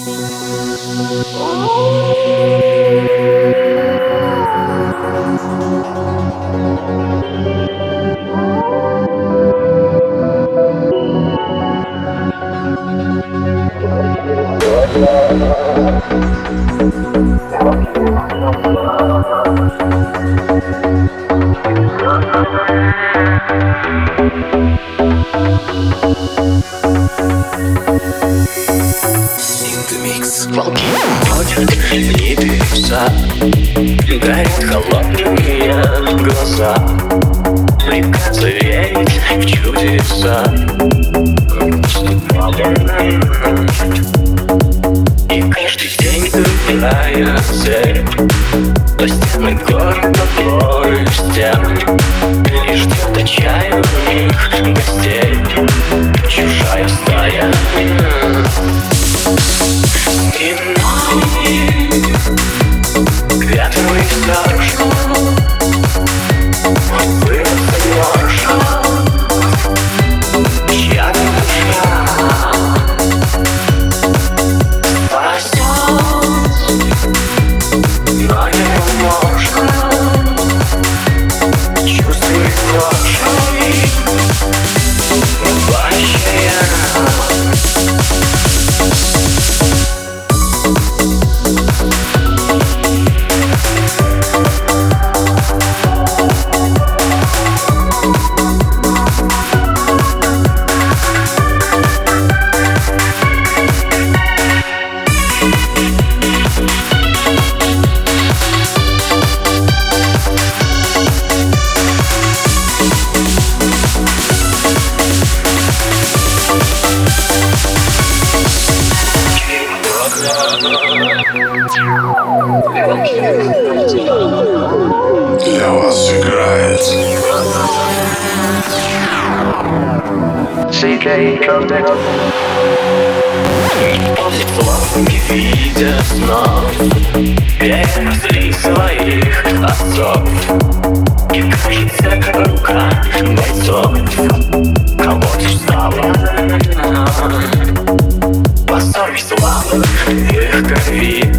Волки ходят в небеса, горят холодные глаза. Придется верить в чудеса. И каждый день другая цель. По стенам города стен. И ждет отчаянных гостей чужая стая. Ветры страшно, вырваться можно, чья душа спасет, но невозможно чувствовать ложь вообще. Для вас играет После слов не видя снов, перевезли своих отцов. И кажется, рука бойцов кого-то встала. По совесть славы их крови